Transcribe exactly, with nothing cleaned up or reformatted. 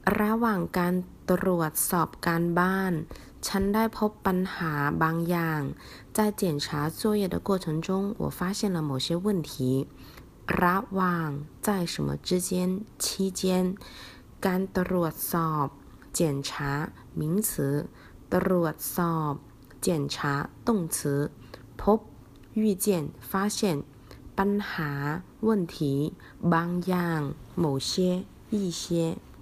ระหว่างการตรวจสอบการบ้านฉันได้พบปัญหาบางอย่าง在检查作业的过程中我发现了某些问题ระหว่าง在什么之间期间การตรวจสอบ检查名词ตรวจสอบ检查动词พบ遇见发现ปัญหา问题บางอย่าง某些一些